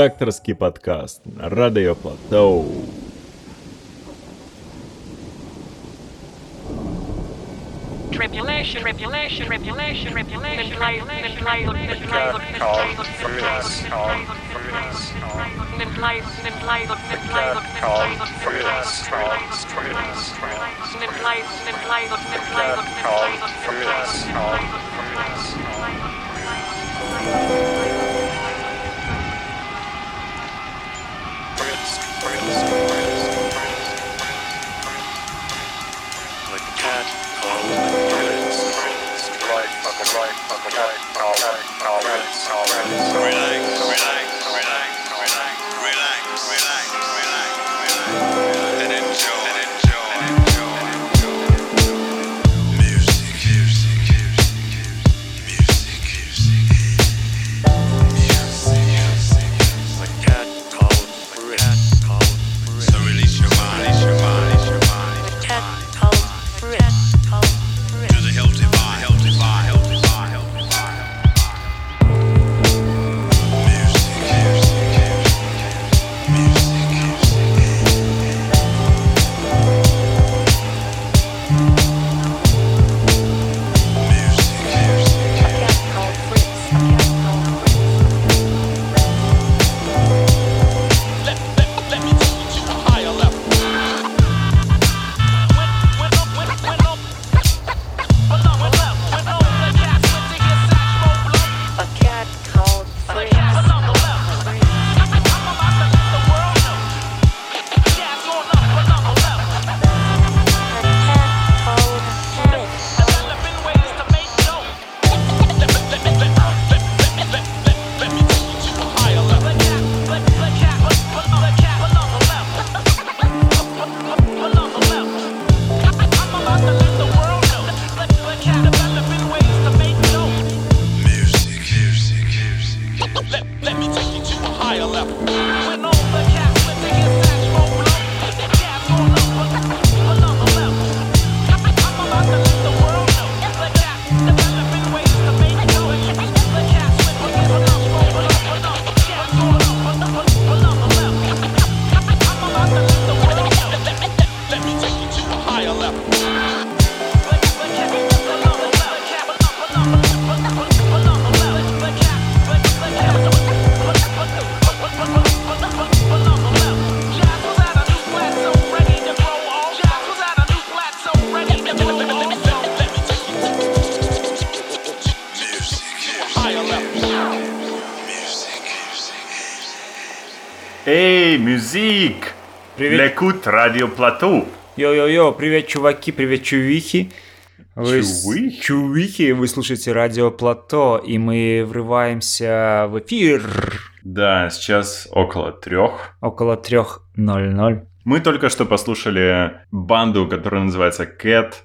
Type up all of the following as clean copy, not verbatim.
Редакторский подкаст на Радио Плато. Эй, мюзик! Привет. L'écoute Радио Плато. Йо-йо-йо, привет, чуваки, привет, чувихи. Чувихи? Чувихи, вы слушаете Радио Плато, и мы врываемся в эфир. Да, сейчас около 3. Около 3:00. Мы только что послушали банду, которая называется Cats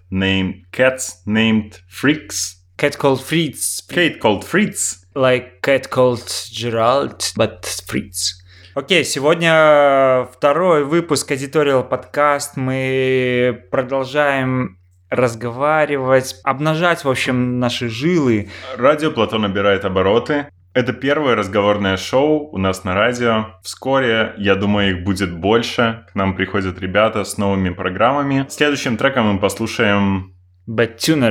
Named Freaks. Cat called Fritz. Kate Called Fritz. Like cat called Gerald, but Fritz. Окей, сегодня второй выпуск Editorial Podcast. Мы продолжаем разговаривать, обнажать, в общем, наши жилы. Радио Плато набирает обороты. Это первое разговорное шоу у нас на радио. Вскоре, я думаю, их будет больше. К нам приходят ребята с новыми программами. Следующим треком мы послушаем... Bad Tuner.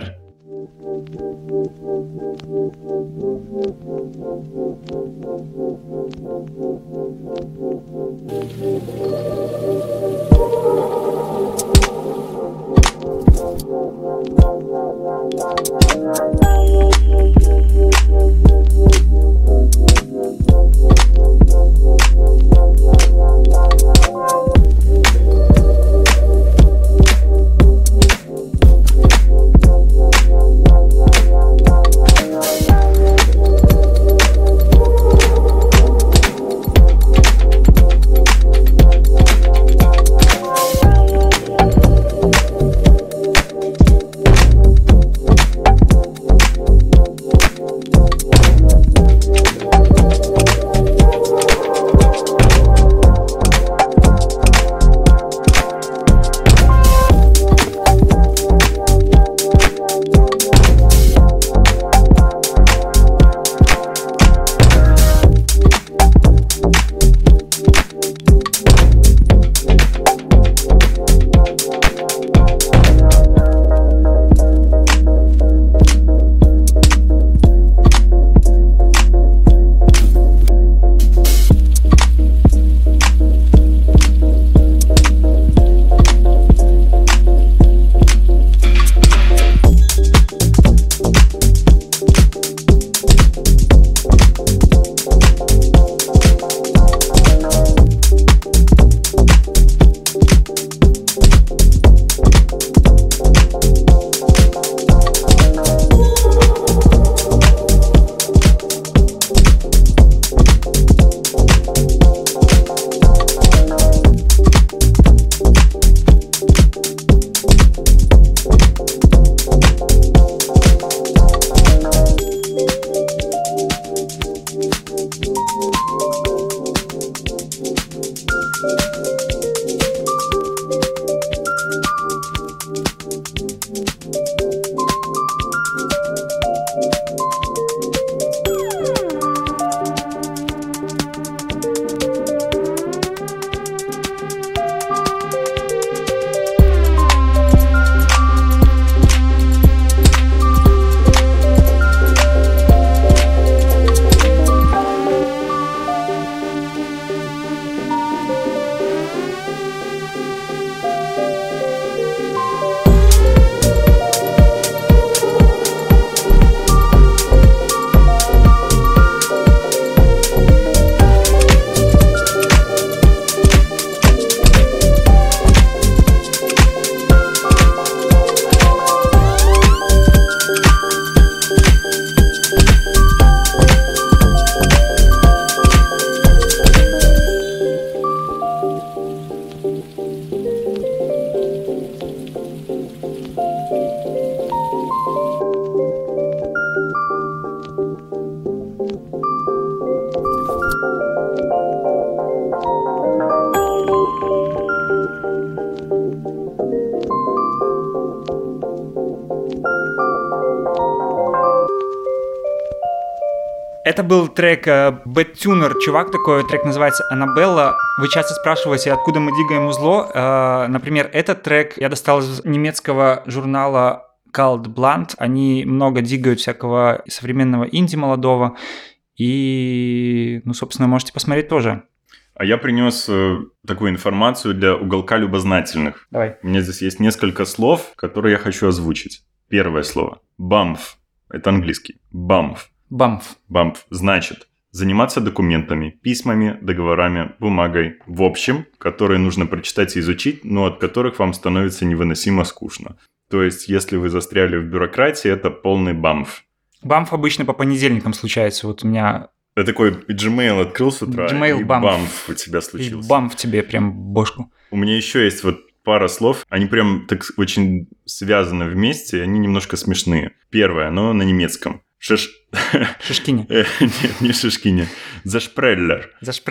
Это был трек Bad Tuner, чувак такой, трек называется «Аннабелла». Вы часто спрашиваете, откуда мы дигаем узло. Например, этот трек я достал из немецкого журнала Cult Blunt. Они много дигают всякого современного инди молодого. И, собственно, можете посмотреть тоже. А я принес такую информацию для уголка любознательных. Давай. У меня здесь есть несколько слов, которые я хочу озвучить. Первое слово. Бамф. Это английский. Бамф. Бамф значит заниматься документами, письмами, договорами, бумагой, в общем, которые нужно прочитать и изучить, но от которых вам становится невыносимо скучно. То есть, если вы застряли в бюрократии, это полный бамф. Бамф обычно по понедельникам случается. Вот у меня... Ты такой Gmail открыл с утра, Gmail, и бамф у тебя случился. И бамф тебе прям бошку. У меня еще есть вот пара слов, они прям так очень связаны вместе, они немножко смешные. Первое, оно на немецком. Шишкине. Нет, не шишкине. Зашпреллер.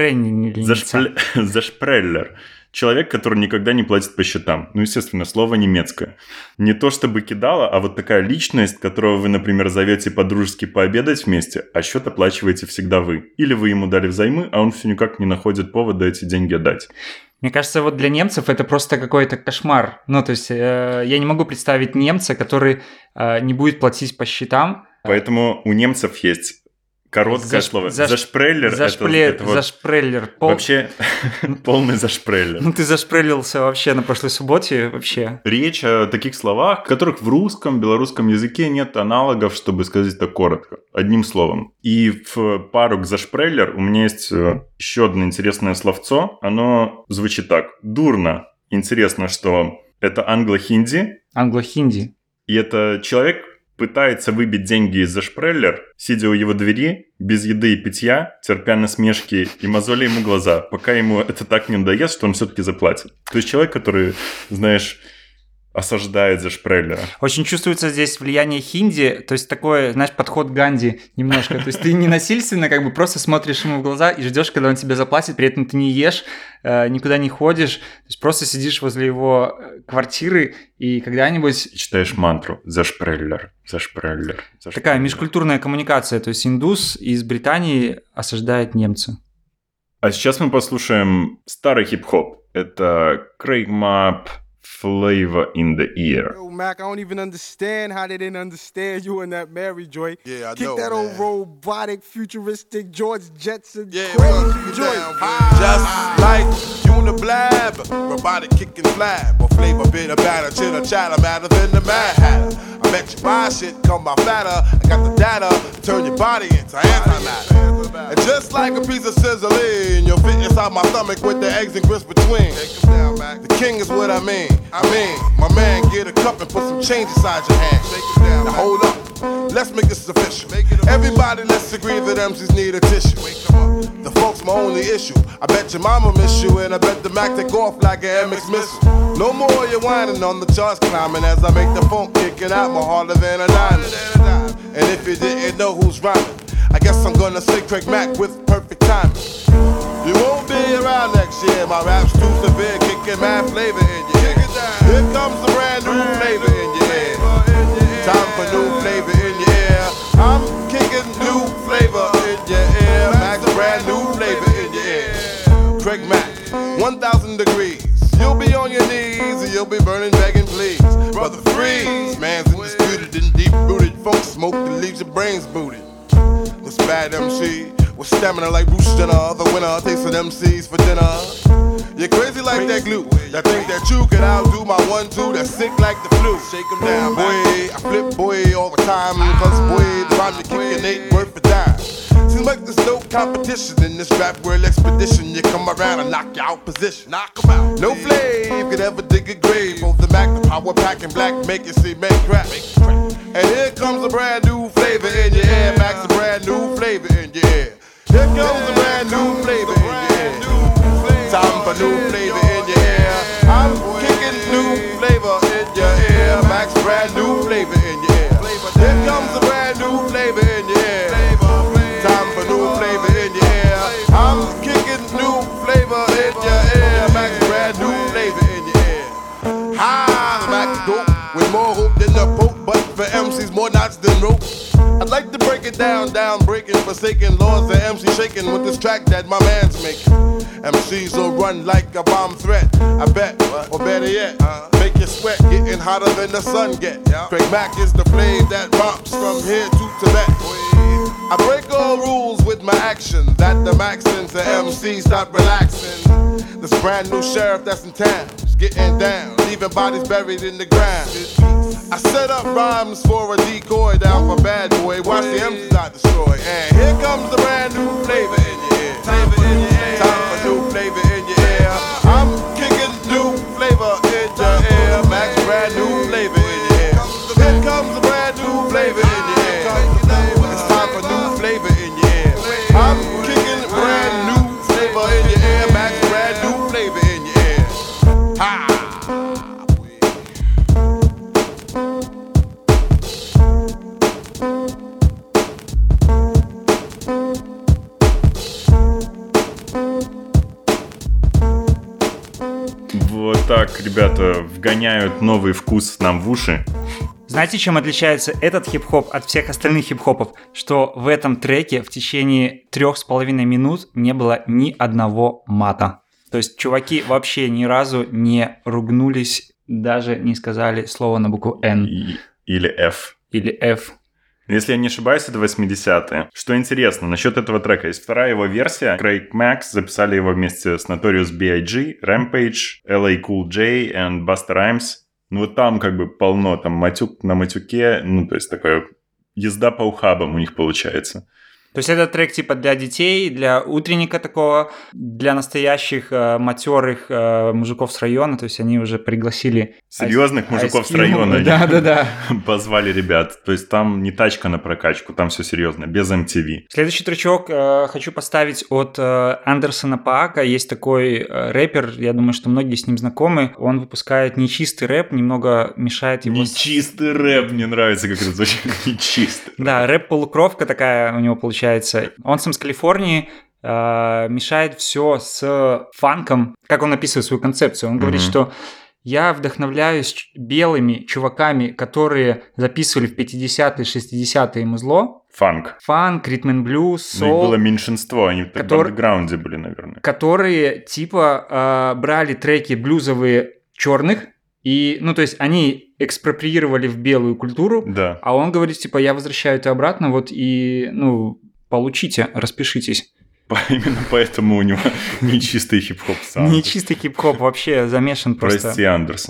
Зашпреллер. Человек, который никогда не платит по счетам. Естественно, слово немецкое. Не то чтобы кидало, а вот такая личность, которого вы, например, зовете по-дружески пообедать вместе, а счет оплачиваете всегда вы. Или вы ему дали взаймы, а он все никак не находит повода эти деньги отдать. Мне кажется, вот для немцев это просто какой-то кошмар. То есть я не могу представить немца, который не будет платить по счетам. Поэтому у немцев есть короткое слово. Зашпреллер. Зашпреллер. Вообще полный зашпреллер. Ты зашпрелился вообще на прошлой субботе вообще. Речь о таких словах, которых в русском, белорусском языке нет аналогов, чтобы сказать это коротко, одним словом. И в пару к зашпреллер у меня есть еще одно интересное словцо. Оно звучит так. Дурно. Интересно, что это англо-хинди. Англо-хинди. И это человек пытается выбить деньги из зашпреллер, сидя у его двери, без еды и питья, терпя насмешки и мозоли ему глаза, пока ему это так не надоест, что он все-таки заплатит. То есть человек, который, знаешь, осаждает зашпреллера. Очень чувствуется здесь влияние хинди, то есть такой, знаешь, подход Ганди немножко. То есть ты не насильственно как бы просто смотришь ему в глаза и ждешь, когда он тебе заплатит, при этом ты не ешь, никуда не ходишь, то есть просто сидишь возле его квартиры и когда-нибудь... И читаешь мантру «Зашпреллер, зашпреллер, зашпреллер». Такая межкультурная коммуникация, то есть индус из Британии осаждает немца. А сейчас мы послушаем старый хип-хоп. Это Craig Mapp, Flavor in the Ear. Yo, Mac, I don't even understand how they didn't understand you in that Mary joint. Yeah, I Kick know, that man. old robotic, futuristic George Jetson Yeah, crazy joint. Just like Uniblab, robotic kicking flab, or flavor bit of batter, chitter chatter, matter than the Mad Hatter. I bet you buy shit, come by fatter. I got the data, turn your body into antimatter. And just like a piece of sizzling, you'll fit inside my stomach with the eggs and grits between. The king is what I mean. My man, get a cup and put some change inside your hand. Now hold up, let's make this official. Everybody, let's agree that MCs need a tissue. The folks my only issue. I bet your mama miss you, and I bet the Mac take off like an MX missile. No more you whining on the charts climbing as I make the funk kicking out more harder than a diamond. And if you didn't know who's rhyming, I guess I'm gonna say Craig Mack with perfect timing. You won't be around next year. My rap's too severe, kicking mad flavor in your ear. Here comes a brand new flavor in your ear. Time for new flavor in your ear. I'm kicking new flavor in your ear. Max, brand new flavor in your ear. Craig Mack, 1,000 degrees. You'll be on your knees and you'll be burning, begging, please. Brother, freeze. Man's undisputed and deep-rooted. Funk smoke that leaves your brains booted. This bad MC with stamina like Bruce Jenner. The winner takes an MCs for dinner. You're crazy like that glue. That think that you can outdo my 1-2. That's sick like the flu. Shake 'em down, boy. I flip, boy, all the time. Cause, boy, the rhyme you're kicking ain't worth a dime. Seems like there's no competition in this rap world expedition. You come around and knock you out position. Knock 'em out. No flame could ever dig a grave. Both the Mac, the power pack, and black make you see make crap. And here comes a brand new flavor in your ear. Max, a brand new flavor in your ear. Here comes a brand new flavor in your ear. Time for new flavor in your ear. I'm kicking new flavor in your ear. Max, brand new flavor in your ear. Here comes a brand new flavor in your ear. Time for new flavor in your ear. I'm kicking new flavor in your ear. Max, brand new flavor in your ear. Hi, Max dope with more hope than the Pope, but for MCs more knots than rope. I'd like to break break it down, breaking, forsaken laws. The MC shaking with this track that my man's making. MCs will run like a bomb threat, I bet, or better yet, make you sweat, getting hotter than the sun get. Craig Mack is the flame that romps from here to Tibet. I break all rules with my action, that the Maxins and MCs stop relaxing. This brand new sheriff that's in town is getting down, leaving bodies buried in the ground. I set up rhymes for a decoy down for bad boy, watch the MCs not destroy. And here comes the brand new flavor in your ear. Time for new flavor in your ear. I'm kicking new flavor in your ear. Max, brand new flavor in your ear. Here comes the brand new flavor in your ear. It's time for new flavor in your ear. I'm kicking brand new flavor in your ear. Max, brand new flavor in your ear. Ha! Вот так, ребята, вгоняют новый вкус нам в уши. Знаете, чем отличается этот хип-хоп от всех остальных хип-хопов? Что в этом треке в течение 3,5 минут не было ни одного мата. То есть чуваки вообще ни разу не ругнулись, даже не сказали слово на букву «Н». Или «Ф». Или «Ф». Если я не ошибаюсь, это 80-е. Что интересно, насчет этого трека, есть вторая его версия. Craig Mack записали его вместе с Notorious B.I.G., Rampage, LA Cool J и Busta Rhymes. Ну вот там как бы полно, там матюк на матюке, ну то есть такая езда по ухабам у них получается. То есть это трек типа для детей, для утренника такого, для настоящих матерых мужиков с района, то есть они уже пригласили... Серьезных мужиков с района. Да. Позвали ребят. То есть там не тачка на прокачку, там все серьезно, без MTV. Следующий тречок хочу поставить от Андерсона Паака. Есть такой рэпер, я думаю, что многие с ним знакомы. Он выпускает нечистый рэп, немного мешает его... Нечистый рэп, мне нравится, как это звучит. Нечистый. Да, рэп-полукровка такая у него получается. Он сам с Калифорнии, мешает все с фанком, как он описывает свою концепцию. Он говорит, что я вдохновляюсь белыми чуваками, которые записывали в 50-е, 60-е музло. Фанк, ритм-н-блюз, сол. Ну, их было меньшинство, они так в андеграунде были, наверное. Которые типа брали треки блюзовые черных, и, ну, то есть они экспроприировали в белую культуру, да. А он говорит, типа, я возвращаю это обратно, вот, и, ну, получите, распишитесь. Именно поэтому у него нечистый хип-хоп саунд. Нечистый хип-хоп вообще замешан просто. Прости, Андерсон.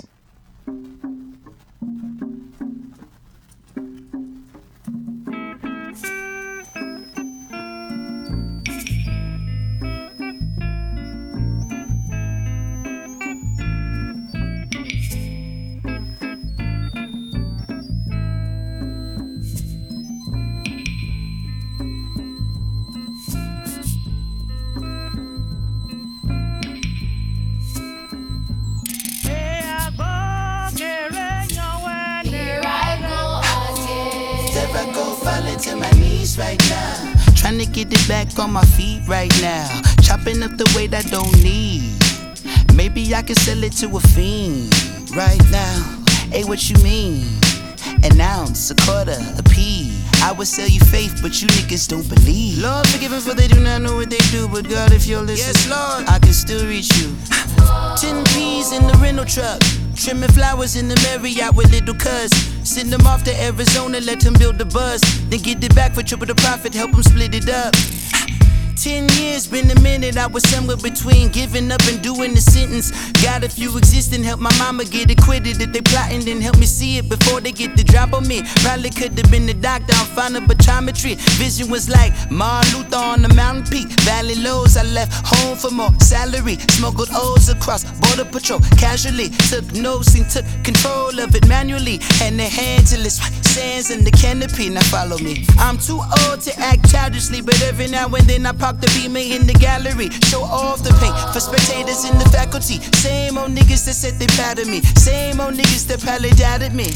To my knees right now, trying to get it back on my feet right now, chopping up the weight I don't need. Maybe I can sell it to a fiend right now. Hey, what you mean? An ounce, a quarter, a pea. I would sell you faith, but you niggas don't believe. Lord, forgive them for they do not know what they do. But God, if you're listening, yes, Lord, I can still reach you. 10 P's in the rental truck, trimming flowers in the Marriott with little cuz. Send them off to Arizona, let them build the buzz. Then get it back for triple the profit, help them split it up. 10 years, been a minute, I was somewhere between giving up and doing the sentence. Got a few existing, help my mama get acquitted. If they plotting, then help me see it before they get the drop on me. Probably could have been the doctor, I'm fine of optometry. Vision was like Martin Luther on the mountain peak. Valley lows, I left home for more salary. Smuggled O's across border patrol, casually. Took notes and took control of it manually. Hand in hand till it's sands in the canopy, now follow me. I'm too old to act childishly, but every now and then I pop the beamer in the gallery, show off the paint for spectators in the faculty. Same old niggas that said they proud of me, same old niggas that probably doubted me.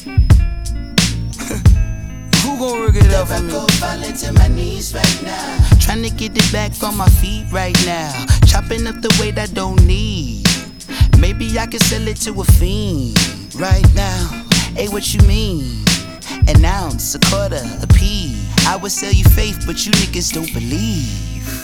Who gon' rig it up for me? I go falling to my knees right now, trying to get it back on my feet right now, chopping up the weight I don't need. Maybe I can sell it to a fiend right now. Hey, what you mean? An ounce, a quarter, a pea. I would sell you faith, but you niggas don't believe.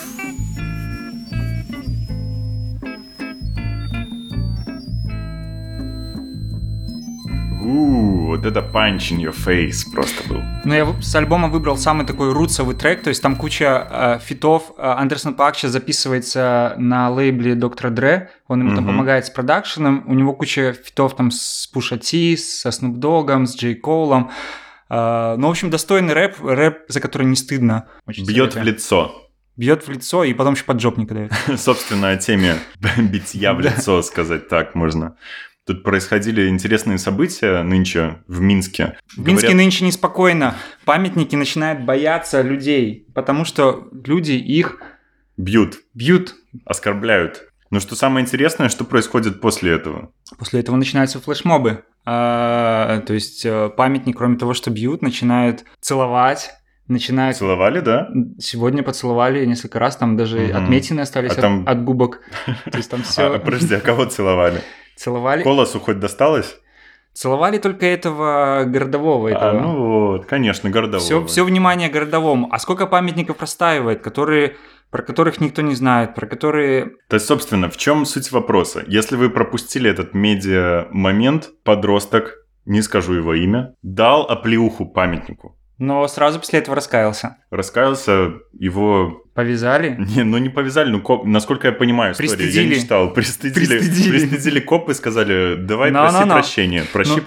Вот это punch in your face просто был. Ну, я с альбома выбрал самый такой рутсовый трек, то есть там куча фитов. Андерсон Паак сейчас записывается на лейбле Доктора Dre, он ему там помогает с продакшеном, у него куча фитов там с Pusha T, со Snoop Dogg'ом, с Джей Коулом. Ну, в общем, достойный рэп, за который не стыдно. Бьет в лицо. Бьет в лицо и потом еще поджопника дает. Собственно, о теме битья в лицо, сказать так можно. Тут происходили интересные события нынче в Минске. В Минске нынче неспокойно. Памятники начинают бояться людей, потому что люди их... Бьют. Оскорбляют. Но что самое интересное, что происходит после этого? После этого начинаются флешмобы. То есть памятник, кроме того, что бьют, начинают целовать. Целовали, да? Сегодня поцеловали несколько раз, там даже отметины остались от губок. То есть там все... Подожди, а кого целовали? Целовали. Колосу хоть досталось? Целовали только этого городового. Ну вот, конечно, городового. Все внимание городовому. А сколько памятников простаивает, про которых никто не знает, про которые... То есть, собственно, в чем суть вопроса? Если вы пропустили этот медиа-момент, подросток, не скажу его имя, дал оплеуху памятнику. Но сразу после этого раскаялся. Его... Повязали? Не повязали, насколько я понимаю историю, я не читал. Пристыдили копы, сказали, давай проси прощения.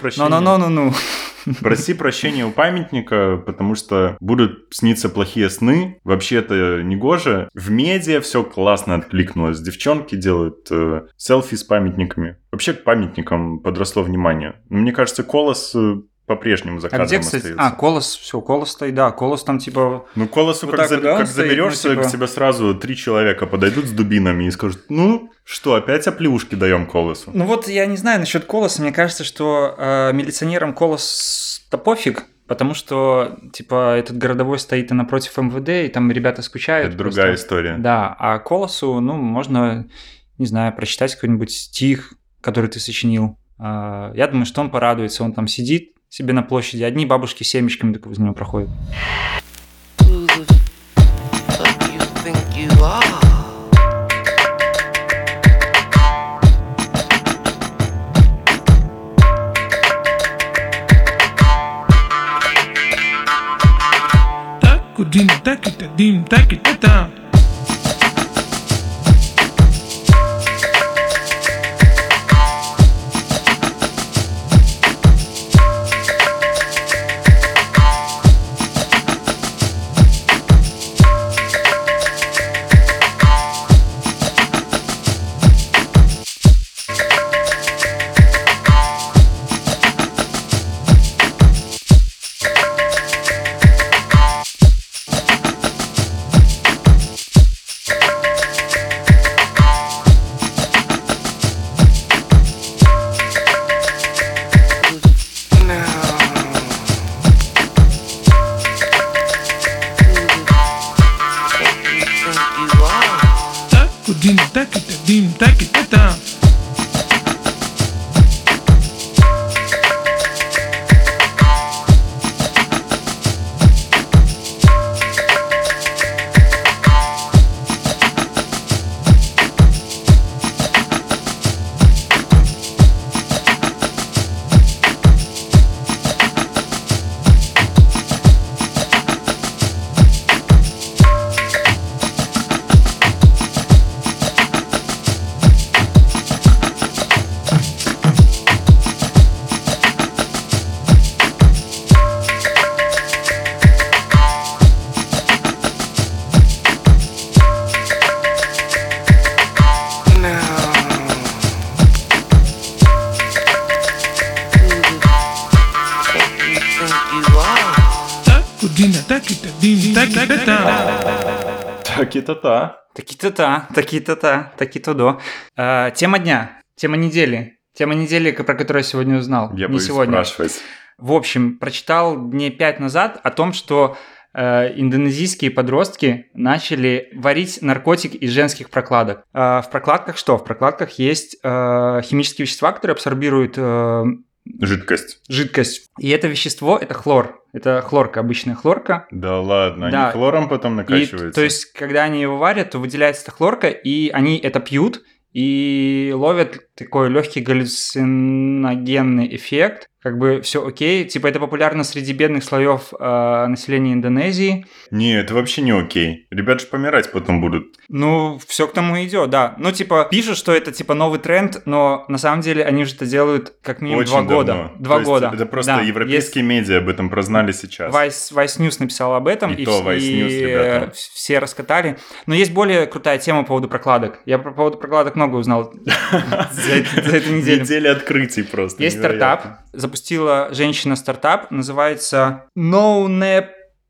Проси прощения у памятника, потому что будут сниться плохие сны. Вообще это негоже. В медиа все классно откликнулось. Девчонки делают селфи с памятниками. Вообще к памятникам подросло внимание. Мне кажется, Колос... по-прежнему за кадром остается. Колос стоит, да. Колос там типа... Ну, Колосу вот как заберешься, к тебе сразу 3 человека подойдут с дубинами и скажут, ну, что, опять оплеушки даем Колосу? Ну вот я не знаю насчет Колоса, мне кажется, что милиционерам Колос-то пофиг, потому что, типа, этот городовой стоит напротив МВД, и там ребята скучают. Это другая история. Да, а Колосу, ну, можно, не знаю, прочитать какой-нибудь стих, который ты сочинил. Я думаю, что он порадуется, он там сидит себе на площади, одни бабушки с семечками так возле него проходят. Таки-то-та. Тема дня, тема недели, про которую я сегодня узнал. Я боюсь спрашивать. В общем, прочитал дней 5 назад о том, что индонезийские подростки начали варить наркотик из женских прокладок. В прокладках что? В прокладках есть химические вещества, которые абсорбируют Жидкость. И это вещество, это хлор. Это хлорка, обычная хлорка. Да ладно, Да. они хлором потом накачиваются. То есть, когда они его варят, то выделяется эта хлорка, и они это пьют, и ловят такой легкий галлюциногенный эффект. Как бы все окей. Типа это популярно среди бедных слоев населения Индонезии. Не, это вообще не окей. Ребята же помирать потом будут. Ну, все к тому идет, да. Ну, типа, пишут, что это типа новый тренд, но на самом деле они же это делают как минимум Очень 2 года. давно. 2 То есть года. Это просто Да. европейские медиа об этом прознали сейчас. Vice News написал об этом, И то Vice News, ребята. все раскатали. Но есть более крутая тема по поводу прокладок. Я по поводу прокладок много узнал за эту неделю. Неделя открытий просто. Есть невероятно. стартап, запустила женщина стартап, называется NoNap.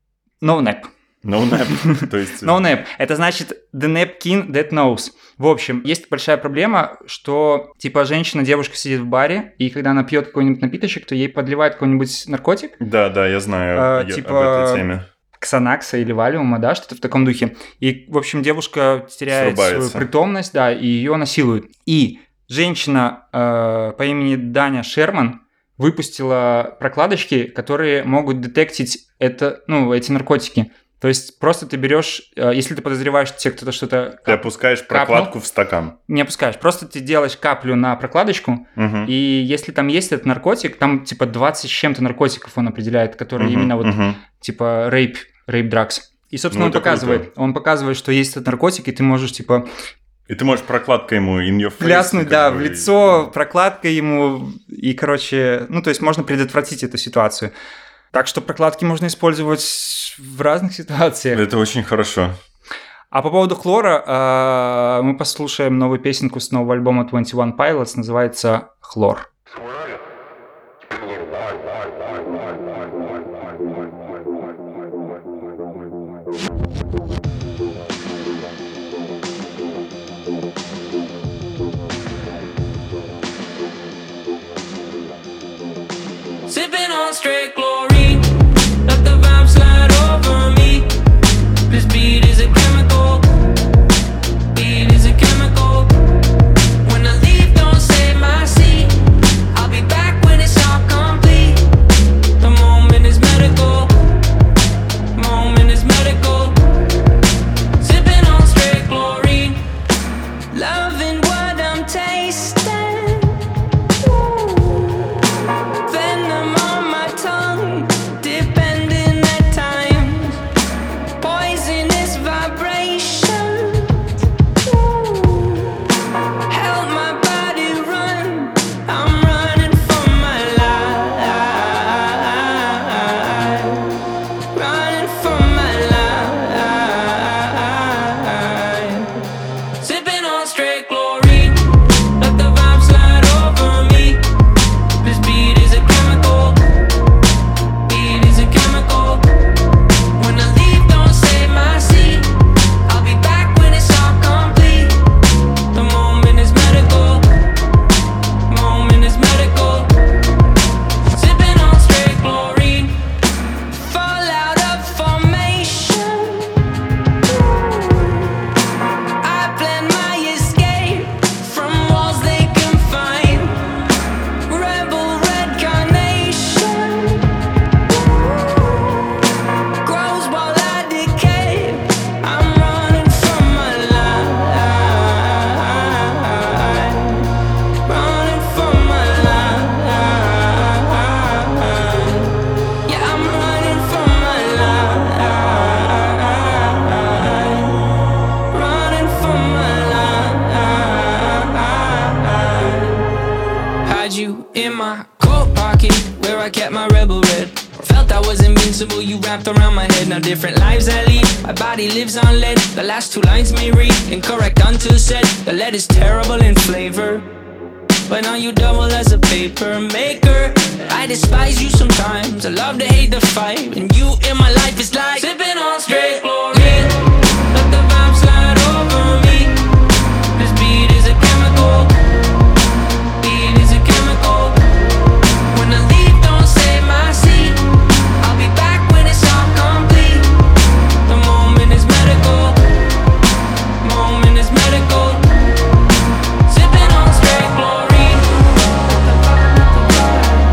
NoNap. То есть... NoNap. Это значит The Napkin That Knows. В общем, есть большая проблема, что типа девушка сидит в баре, и когда она пьет какой-нибудь напиточек, то ей подливают какой-нибудь наркотик. Да, я знаю об этой теме. Ксанакса или валиума, да, что-то в таком духе. И, в общем, девушка теряет свою притомность, да, и ее насилуют. И женщина по имени Даня Шерман выпустила прокладочки, которые могут детектить эти наркотики. То есть просто ты берешь, если ты подозреваешь, что тебе кто-то что-то... Ты опускаешь прокладку в стакан. Не опускаешь, просто ты делаешь каплю на прокладочку, и если там есть этот наркотик, там типа 20 с чем-то наркотиков он определяет, которые именно типа rape drugs. И, собственно, он показывает, что есть этот наркотик, и ты можешь типа... И ты можешь прокладкой ему in your face. Пляснуть, да, в лицо, прокладкой ему, и, короче, то есть можно предотвратить эту ситуацию. Так что прокладки можно использовать в разных ситуациях. Это очень хорошо. А по поводу хлора, мы послушаем новую песенку с нового альбома 21 Pilots, называется «Хлор». Sipping on straight chlorine, let the vibe slide over me. This beat is a chemical, beat is a chemical. When I leave, don't save my seat. I'll be back when it's all complete. The moment is medical, moment is medical. Sipping on straight chlorine, loving what I'm tasting. Around my head, now different lives I lead. My body lives on lead. The last two lines may read incorrect until said. The lead is terrible in flavor, but now you double as a paper maker. I despise you sometimes. I love to hate the fight, and you in my life is like sipping on straight chlorine. Let the vibe slide over me. This beat is a chemical. Beat is a chemical. When I leave, don't save my seat. I'll be back. The moment is medical. Moment is medical. Sipping on straight chlorine.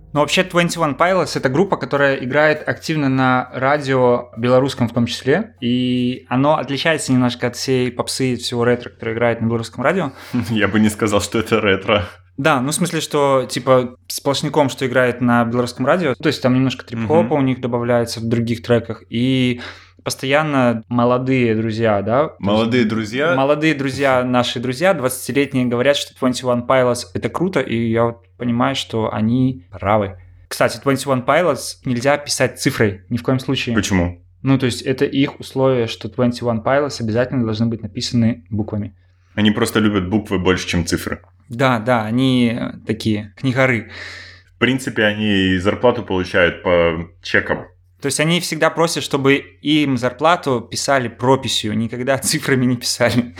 Но вообще 21 Pilots — это группа, которая играет активно на радио белорусском в том числе, и оно отличается немножко от всей попсы и всего ретро, которое играет на белорусском радио. Я бы не сказал, что это ретро. Да, ну в смысле, что типа сплошняком, что играет на белорусском радио, то есть там немножко трип-хопа у них добавляется в других треках, и постоянно молодые друзья, да? Молодые друзья? Молодые друзья, наши друзья, 20-летние, говорят, что 21 Pilots — это круто, и я вот понимаю, что они правы. Кстати, 21 Pilots нельзя писать цифрой, ни в коем случае. Почему? Ну, то есть это их условие, что 21 Pilots обязательно должны быть написаны буквами. Они просто любят буквы больше, чем цифры. Да, они такие книгары. В принципе, они зарплату получают по чекам. То есть они всегда просят, чтобы им зарплату писали прописью, никогда цифрами не писали.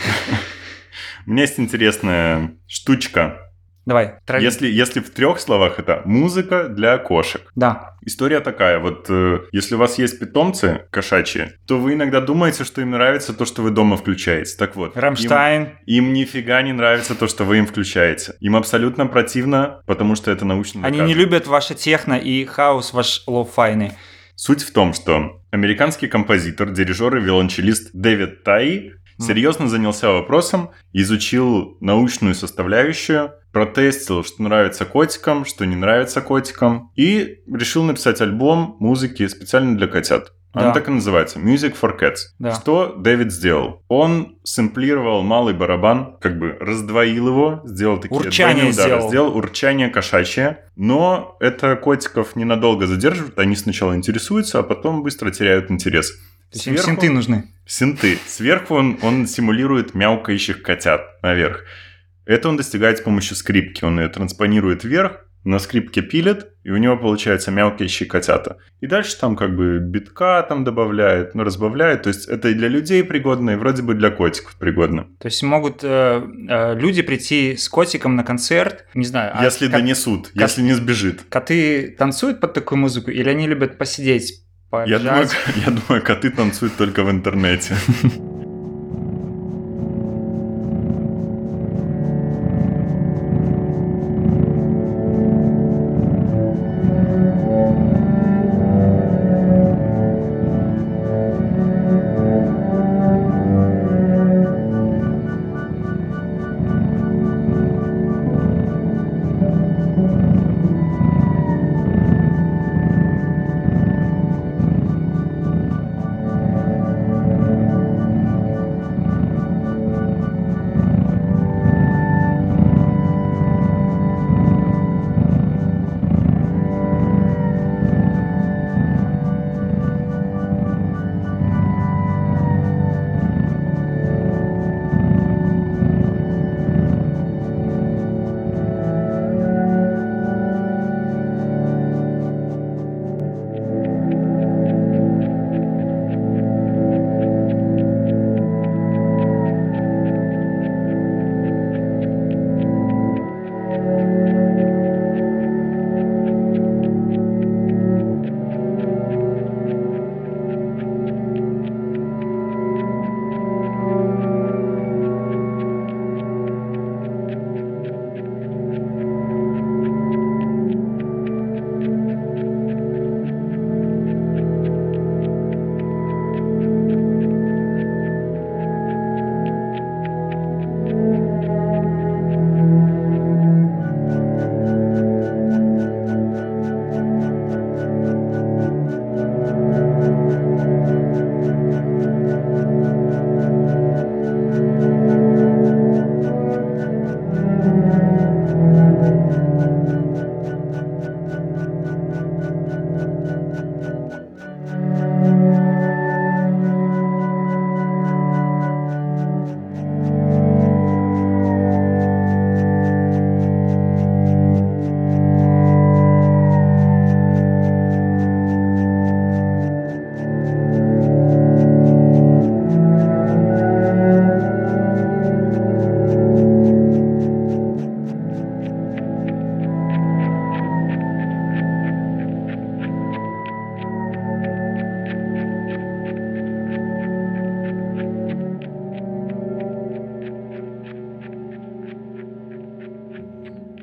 У меня есть интересная штучка. Давай, трави. Если в 3 словах, это музыка для кошек. Да. История такая, вот если у вас есть питомцы кошачьи, то вы иногда думаете, что им нравится то, что вы дома включаете. Так вот. Рамштайн. Им нифига не нравится то, что вы им включаете. Им абсолютно противно, потому что это научно доказано. Они не любят ваше техно и хаос ваш лоу-файный. Суть в том, что американский композитор, дирижер и виолончелист Дэвид Таи серьезно занялся вопросом, изучил научную составляющую, протестил, что нравится котикам, что не нравится котикам, и решил написать альбом музыки специально для котят. Она так и называется «Music for Cats». Да. Что Дэвид сделал? Он сэмплировал малый барабан, как бы раздвоил его, сделал такие урчание удары, сделал урчание кошачье, но это котиков ненадолго задерживает, они сначала интересуются, а потом быстро теряют интерес. То есть им синты нужны. Синты. Сверху он симулирует мяукающих котят наверх. Это он достигает с помощью скрипки. Он ее транспонирует вверх, на скрипке пилит, и у него получается мяукающие котята. И дальше там как бы битка там добавляет, разбавляет. То есть это и для людей пригодно, и вроде бы для котиков пригодно. То есть могут люди прийти с котиком на концерт, не знаю. Если донесут, если не сбежит. Коты танцуют под такую музыку, или они любят посидеть? Я думаю, коты танцуют только в интернете.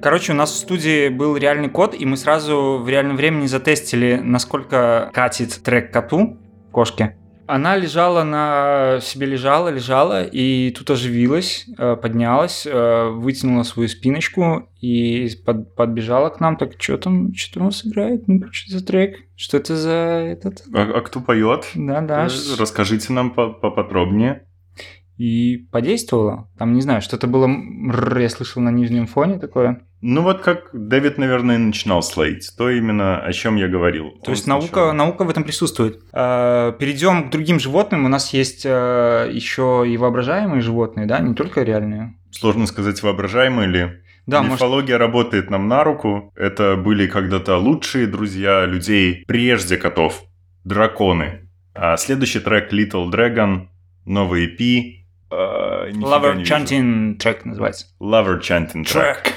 Короче, у нас в студии был реальный кот, и мы сразу в реальном времени затестили, насколько катит трек коту, кошке. Она лежала лежала, и тут оживилась, поднялась, вытянула свою спиночку и подбежала к нам. Так, что там у нас играет? Ну, что это за трек? Что это за этот? А кто поет? Да. Расскажите нам поподробнее. И подействовало. Там, не знаю, что-то было, я слышал на нижнем фоне такое. Ну вот как Дэвид, наверное, начинал слоить. То именно, о чем я говорил. То есть наука в этом присутствует. Перейдем к другим животным. У нас есть еще и воображаемые животные, да, не только реальные. Сложно сказать, воображаемые ли. Да, мифология работает нам на руку. Это были когда-то лучшие друзья людей прежде котов. Драконы. А следующий трек Little Dragon, новый EP. Lover Chanting трек называется. Lover Chanting трек.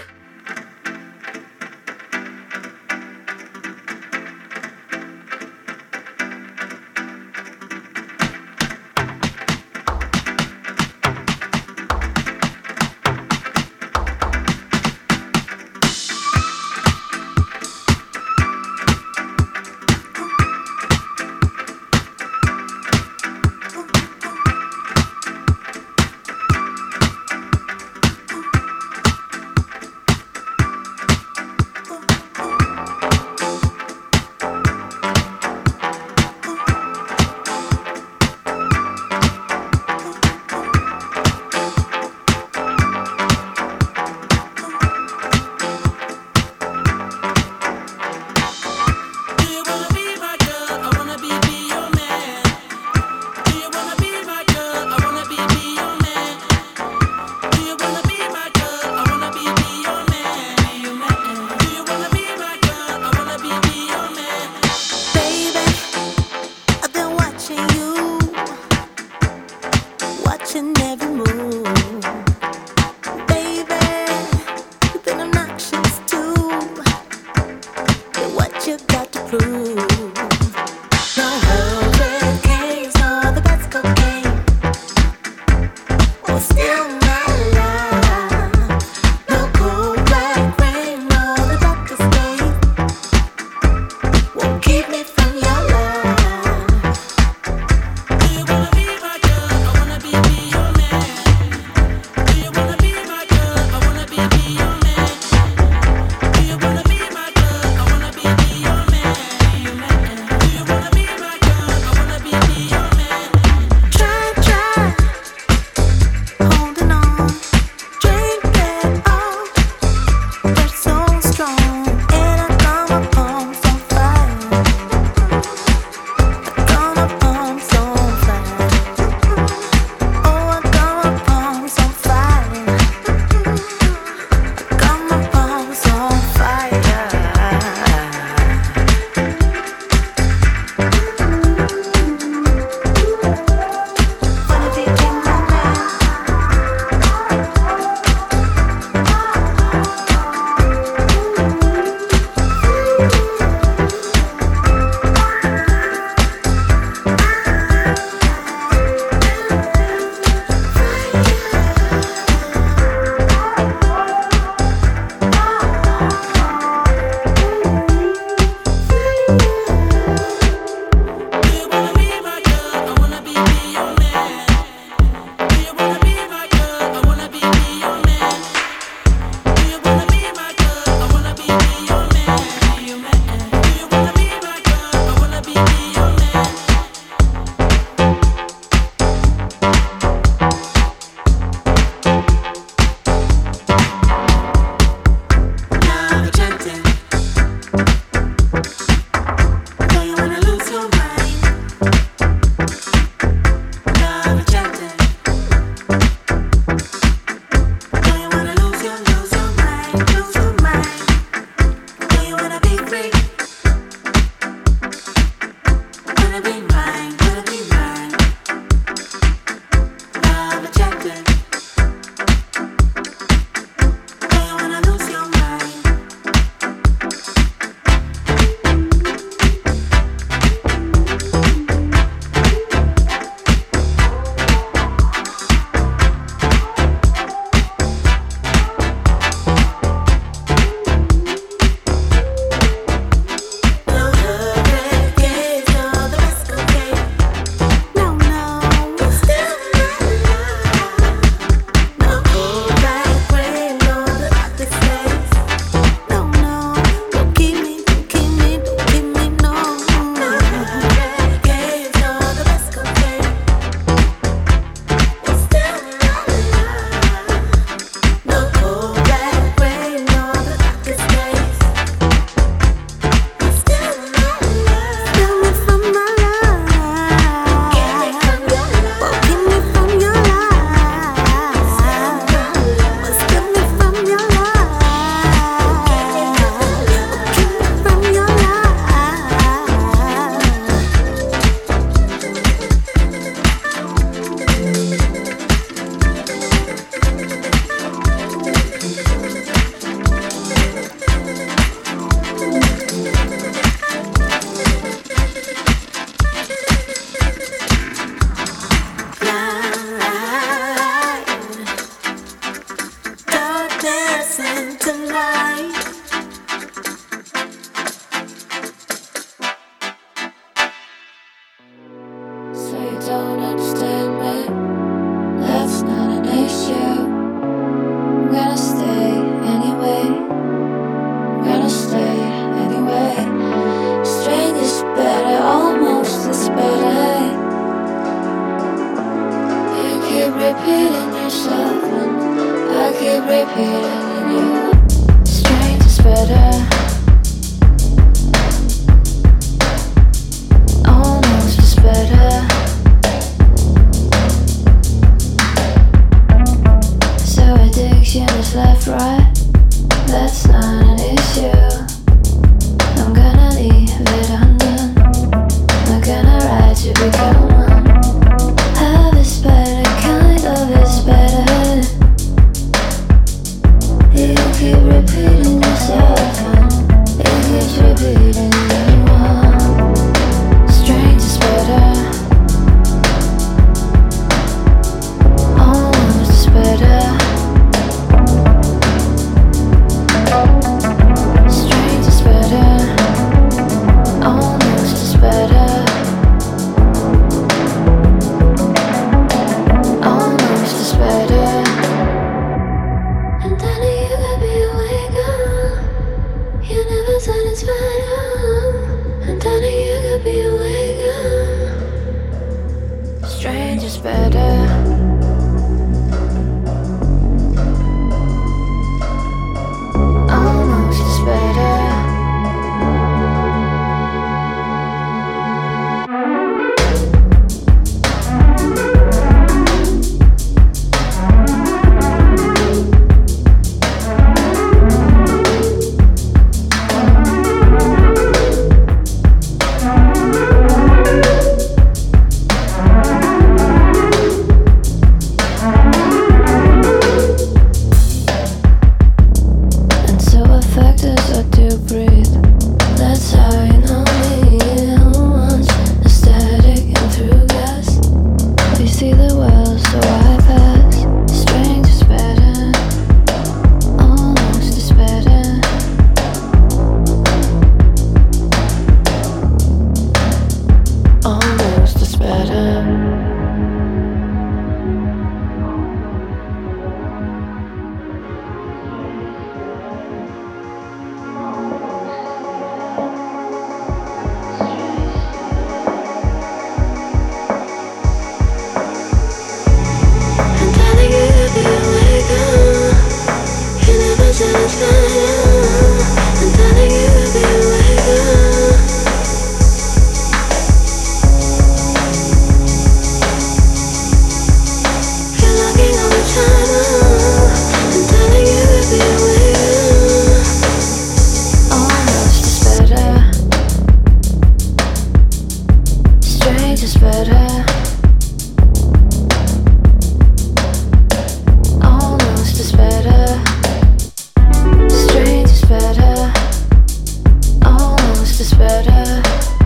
Almost is better.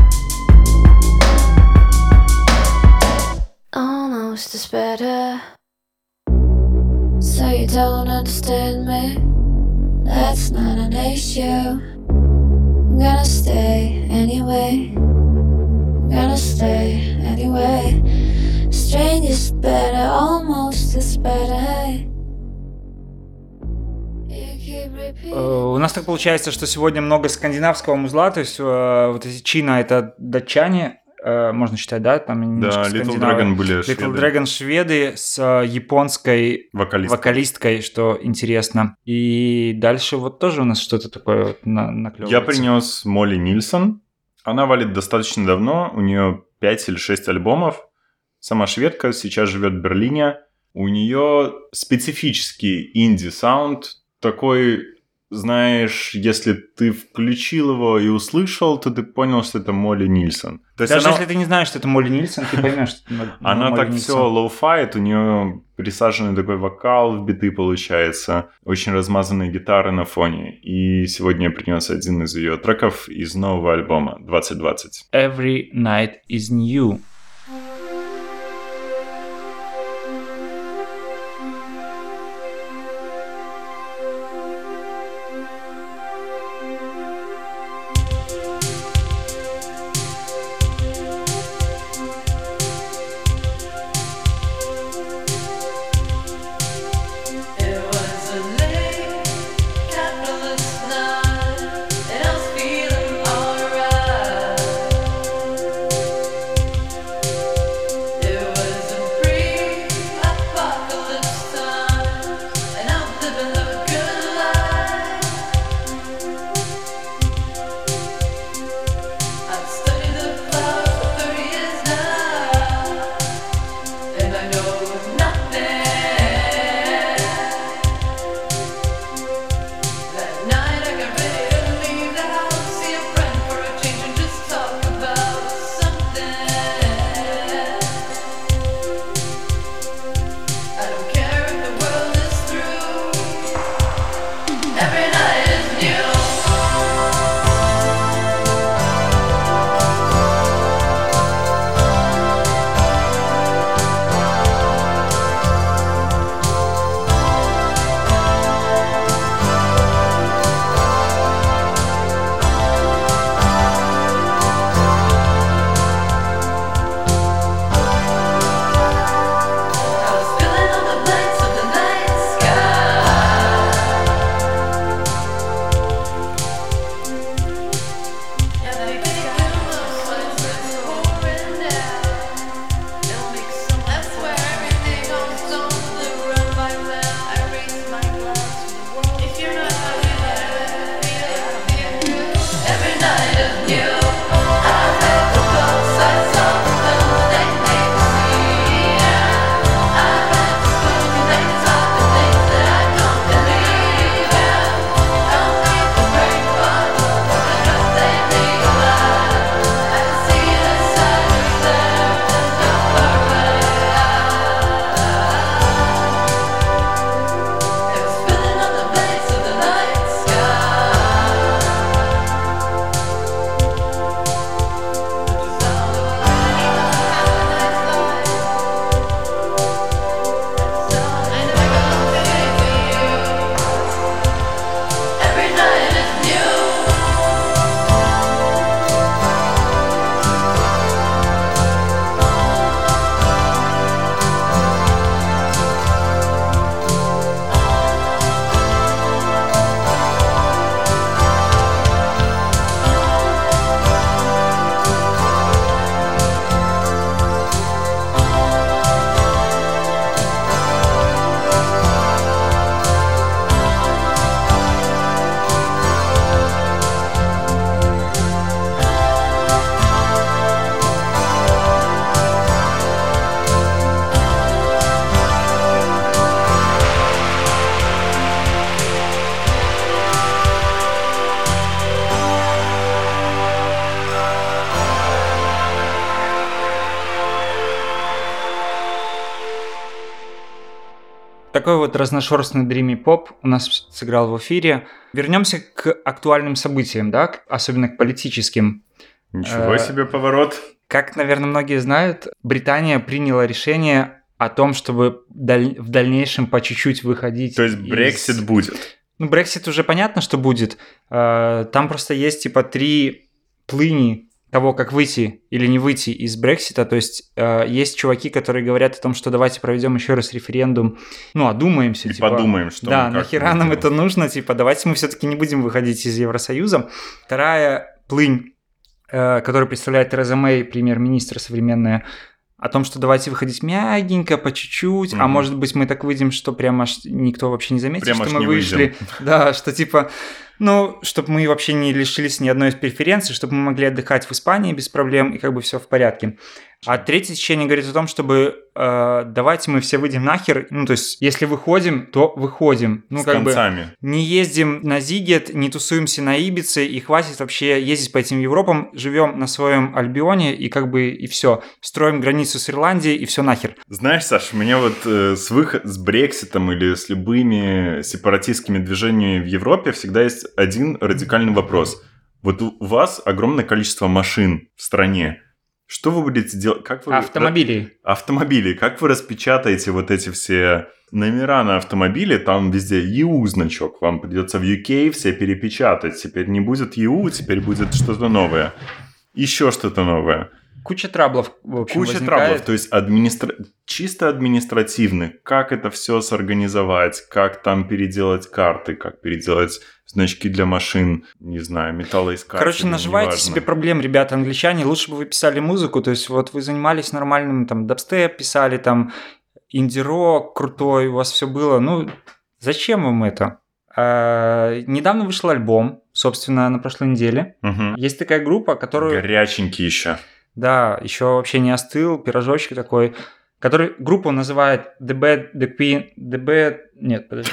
Almost is better. So you don't understand me? That's not an issue. I'm gonna stay anyway. I'm gonna stay anyway. Strange is better, almost is better. У нас так получается, что сегодня много скандинавского музла, то есть вот эти Чина — это датчане, можно считать, да? Там Да, Little Dragon были шведы. Little Dragon шведы с японской вокалисткой, что интересно. И дальше вот тоже у нас что-то такое вот наклевывается. Я принес Молли Нильсон. Она валит достаточно давно, у нее 5 или 6 альбомов. Сама шведка, сейчас живет в Берлине. У нее специфический инди-саунд, такой, знаешь, если ты включил его и услышал, то ты понял, что это Молли Нильсон. То есть даже если ты не знаешь, что это Молли Нильсон, ты поймешь, что это Молли Нильсон. Она так все лоу-файт, у нее присаженный такой вокал в биты получается, очень размазанные гитары на фоне. И сегодня я принес один из ее треков из нового альбома 2020. Every Night is New. Такой вот разношерстный dreamy поп у нас сыграл в эфире. Вернемся к актуальным событиям, да, особенно к политическим. Ничего себе поворот. Как, наверное, многие знают, Британия приняла решение о том, чтобы в дальнейшем по чуть-чуть выходить. То есть Брексит будет? Ну, Брексит уже понятно, что будет. Там просто есть типа 3 плыни того, как выйти или не выйти из Брексита. То есть есть чуваки, которые говорят о том, что давайте проведем еще раз референдум, ну, одумаемся. И типа, подумаем, что да, мы нахера нам это нужно, типа, давайте мы все-таки не будем выходить из Евросоюза. Вторая плынь, которую представляет Тереза Мэй, премьер-министр современная, о том, что давайте выходить мягенько, по чуть-чуть, а может быть мы так выйдем, что прямо никто вообще не заметит, прямо что мы вышли. Да, что типа, ну, чтобы мы вообще не лишились ни одной из преференций, чтобы мы могли отдыхать в Испании без проблем, и как бы все в порядке. А третье течение говорит о том, чтобы давайте мы все выйдем нахер, ну, то есть, если выходим, то выходим. Ну, с как концами. бы не ездим на Зигет, не тусуемся на Ибице, и хватит вообще ездить по этим Европам, живем на своем Альбионе, и как бы, и все. Строим границу с Ирландией, и все нахер. Знаешь, Саш, у меня вот с Брекситом или с любыми сепаратистскими движениями в Европе всегда есть один радикальный вопрос. Вот у вас огромное количество машин в стране. Что вы будете делать? Как вы... Автомобили. Как вы распечатаете вот эти все номера на автомобиле? Там везде EU значок. Вам придется в UK все перепечатать. Теперь не будет EU, теперь будет что-то новое. Еще что-то новое. Куча траблов, в общем, возникает. Траблов, то есть чисто административно. Как это все сорганизовать, как там переделать карты, как переделать значки для машин, не знаю, металлоискатели. Короче, наживайте себе проблем, ребята, англичане. Лучше бы вы писали музыку, то есть вот вы занимались нормальным, там, дабстеп, писали там инди-рок крутой, у вас все было. Ну, зачем вам это? Недавно вышел альбом, собственно, на прошлой неделе. Угу. Есть такая группа, которую... Горяченький еще. Да, еще вообще не остыл, пирожочек такой, который группу называет The Bad, The Queen, The Bad... Нет, подожди.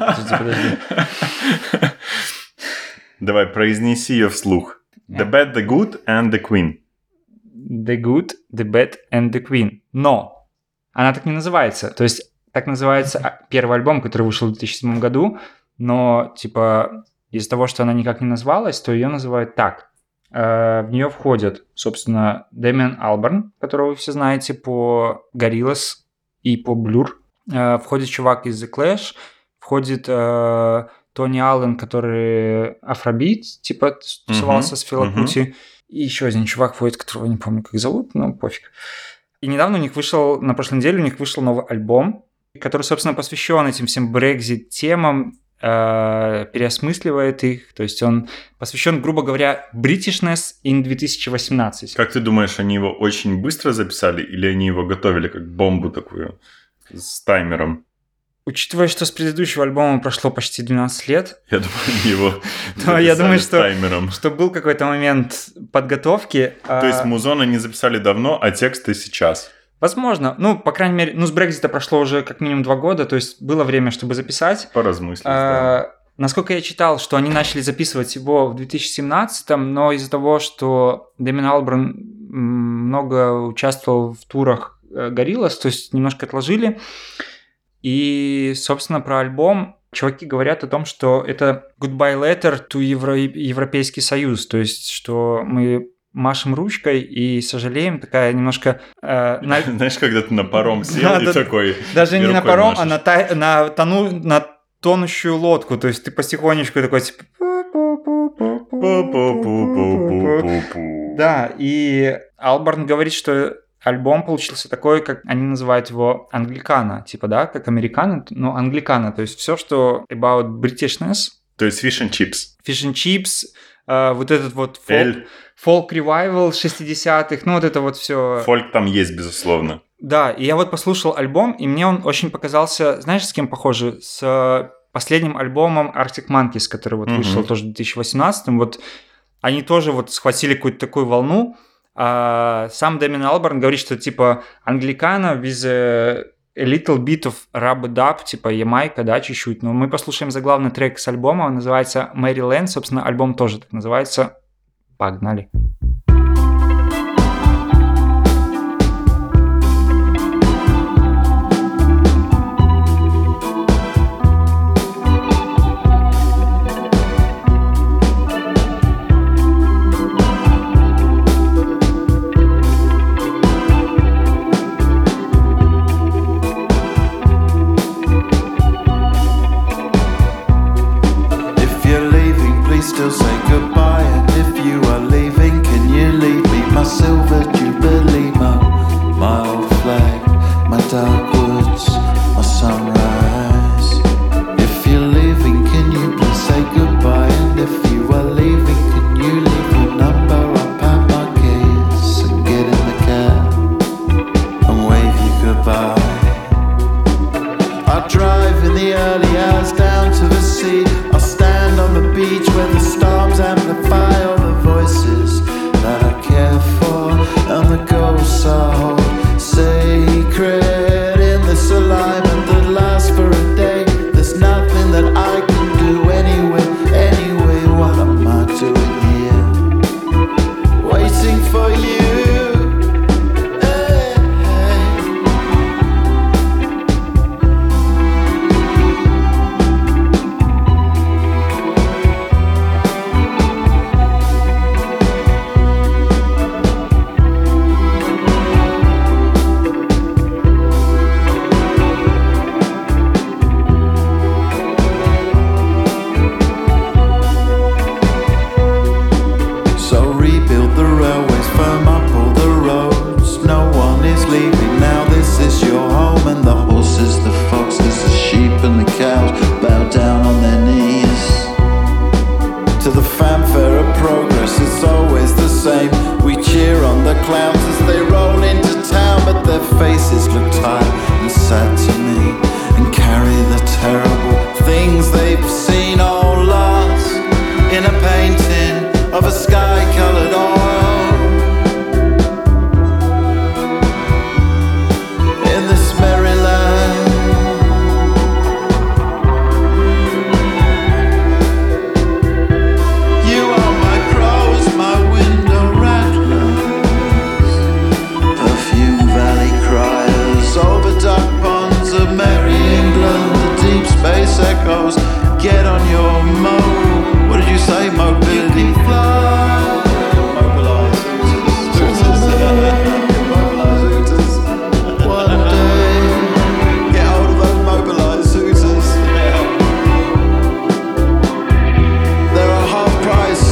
Давай, произнеси ее вслух. The Bad, The Good and The Queen. The Good, The Bad and The Queen. Но она так не называется. То есть так называется первый альбом, который вышел в 2007 году, но типа из-за того, что она никак не назвалась, то ее называют так. В нее входят, собственно, Дэмиан Алберн, которого вы все знаете по Gorillaz и по Blur. Входит чувак из The Clash. Входит Тони Аллен, который афробит, типа тусовался с Фила Кути. И еще один чувак входит, которого не помню, как зовут, но пофиг. И недавно у них вышел, на прошлой неделе у них вышел новый альбом, который, собственно, посвящен этим всем Brexit-темам, переосмысливает их, то есть он посвящен, грубо говоря, Britishness in 2018. Как ты думаешь, они его очень быстро записали или они его готовили как бомбу такую с таймером? Учитывая, что с предыдущего альбома прошло почти 12 лет... Я думаю, они его я думаю, с таймером. Что был какой-то момент подготовки. То есть музон они записали давно, а тексты сейчас? Возможно. Ну, по крайней мере, с Брексита прошло уже как минимум 2 года, то есть было время, чтобы записать. Поразмыслить, да. Насколько я читал, что они начали записывать его в 2017-м, но из-за того, что Дэмиан Алберн много участвовал в турах Gorillaz, то есть немножко отложили. И, собственно, про альбом чуваки говорят о том, что это goodbye letter to Европейский Союз, то есть что мы машем ручкой и сожалеем, такая немножко... Знаешь, когда ты на паром сел и такой... Даже не на паром, а на тонущую лодку, то есть ты потихонечку такой типа... Да, и Алберн говорит, что альбом получился такой, как они называют его англикана, типа, да, как американо, но англикана, то есть все, что about Britishness. То есть fish and chips. Fish and chips, вот этот вот folk revival 60-х, ну вот это вот все. Фольк там есть, безусловно. Да, и я вот послушал альбом, и мне он очень показался, знаешь, с кем похоже? С последним альбомом Arctic Monkeys, который вот вышел тоже в 2018-м, вот они тоже вот схватили какую-то такую волну. Сам Дэмиан Алберн говорит, что типа англикана with a little bit of rub-a-dub, типа Ямайка, да, чуть-чуть. Но мы послушаем заглавный трек с альбома, он называется Maryland, собственно, альбом тоже так называется. Погнали. clowns as they roll into town, but their faces look tired and sad to me, and carry the terrible things they've seen all lost in a painting of a sky-coloured oil. In this merry land, you are my crows, my window rattlers, Perfume Valley criers, over duck ponds of merry England, the deep space echoes. Get on your what did you say? Mobility. Mobilise Hooters. One day, get hold of those mobilise Hooters. They're a half price.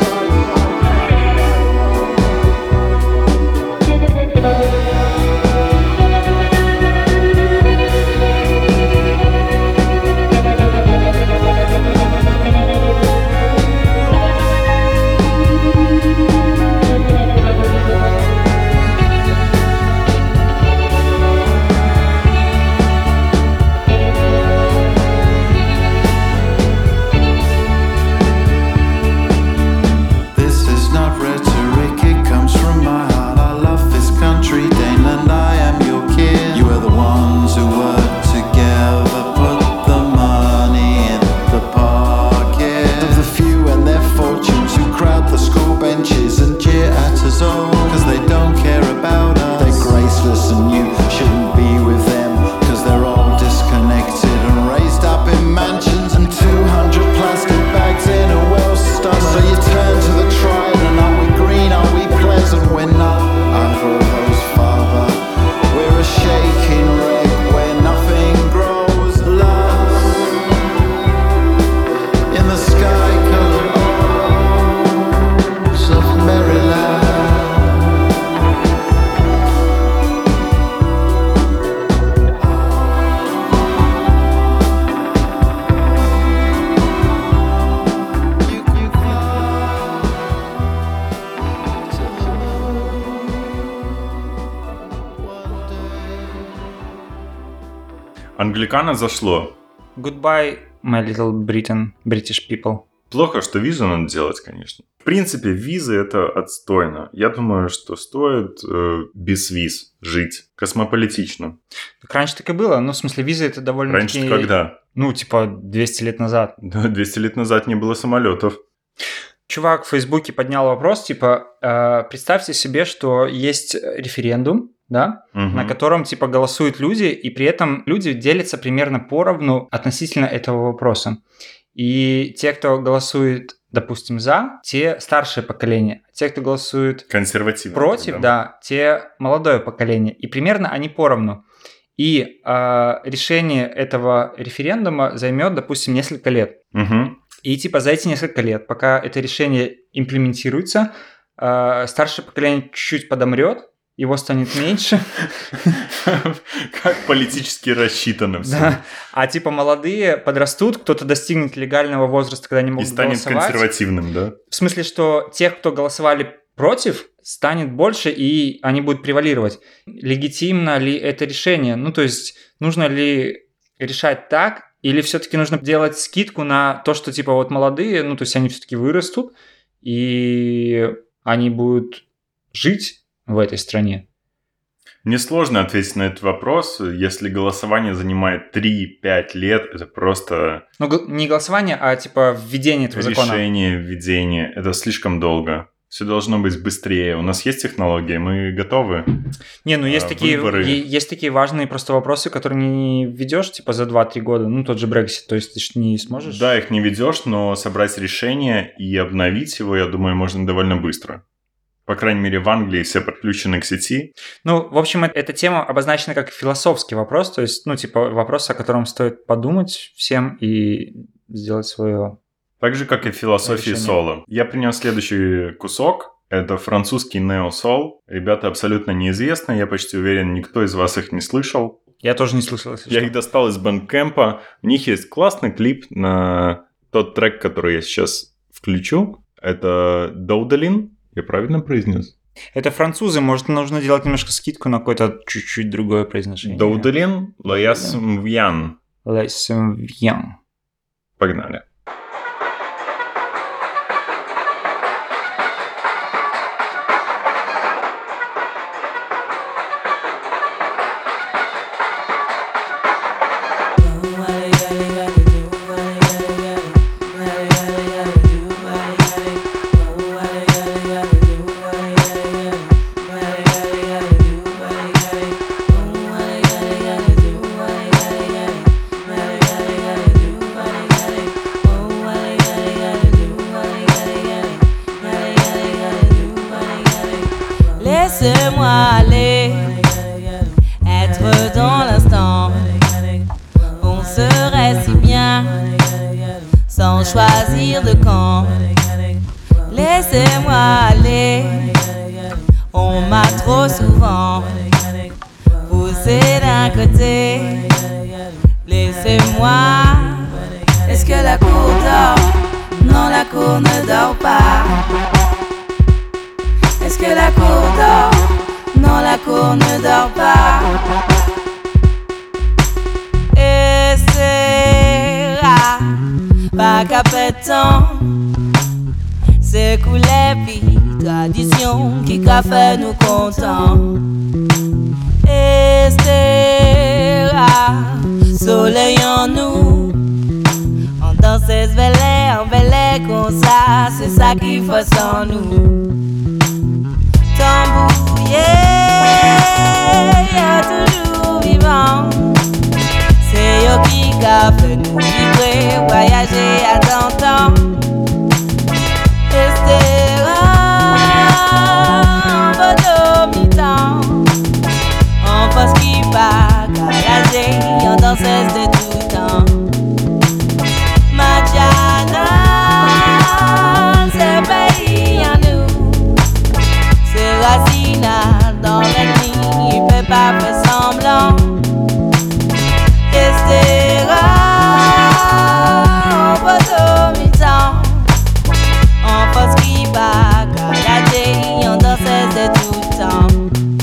Англикано зашло. Goodbye, my little Britain, British people. Плохо, что визу надо делать, конечно. В принципе, визы это отстойно. Я думаю, что стоит без виз жить космополитично. Так раньше так и было. Ну, в смысле, визы это довольно-таки... Раньше когда? Ну, типа 200 лет назад. Да, 200 лет назад не было самолетов. Чувак в Фейсбуке поднял вопрос, типа, представьте себе, что есть референдум, да, на котором, типа, голосуют люди, и при этом люди делятся примерно поровну относительно этого вопроса. И те, кто голосует, допустим, за, те старшее поколение. Те, кто голосует против, да, те молодое поколение. И примерно они поровну. И решение этого референдума займет, допустим, несколько лет. И типа за эти несколько лет, пока это решение имплементируется, старшее поколение чуть-чуть подомрет, его станет меньше. Как политически рассчитано все. Да. А типа молодые подрастут, кто-то достигнет легального возраста, когда они могут голосовать. И станет консервативным, да? В смысле, что тех, кто голосовали против, станет больше, и они будут превалировать. Легитимно ли это решение? Ну, то есть, нужно ли решать так, или все-таки нужно делать скидку на то, что типа вот молодые, ну, то есть, они все-таки вырастут, и они будут жить в этой стране? Мне сложно ответить на этот вопрос. Если голосование занимает 3-5 лет, это просто... Ну, не голосование, а типа введение этого закона. Решение, введение. Это слишком долго. Все должно быть быстрее. У нас есть технологии, мы готовы. Не, ну есть такие важные просто вопросы, которые не введешь типа за 2-3 года. Ну, тот же Brexit, то есть ты же не сможешь... Да, их не ведешь, но собрать решение и обновить его, я думаю, можно довольно быстро. По крайней мере, в Англии все подключены к сети. Ну, в общем, эта тема обозначена как философский вопрос, то есть, ну, типа, вопрос, о котором стоит подумать всем и сделать свое... Так же, как и в философии соло. Я принес следующий кусок. Это французский нео-сол. Ребята абсолютно неизвестны. Я почти уверен, никто из вас их не слышал. Я тоже не слышал. Я их достал из Bandcamp'а. У них есть классный клип на тот трек, который я сейчас включу. Это Доудалин. Я правильно произнес? Это французы, может, нужно делать немножко скидку на какое-то чуть-чуть другое произношение. Доуделин, Лояс Мвьян. Лесвьян. Погнали. Laisse-moi aller, être dans l'instant. On serait si bien, sans choisir de camp. Laissez-moi aller, on m'a trop souvent poussé d'un côté. Laissez-moi, est-ce que la cour dort? Non, la cour ne dort pas. Est-ce que la cour dort? Non, la cour ne dort pas. Et c'est pas qu'après tant s'écoulait puis tradition qui a fait nous contents. Et c'est soleil en nous, on dansait ce belay, en belay comme ça, c'est ça qu'il faut sans nous. Tambouillé, toujours vivant. C'est yo qui a fait nous vibrer, voyager à temps. Rester en photo mi-temps. En force qui va calager, en danseuse de tout temps. Madiana, c'est pays en nous. Racina dans la nuit, il peut pas faire semblant. Restera en photo mi-temps. En force qui va calager, en danseuse de tout temps.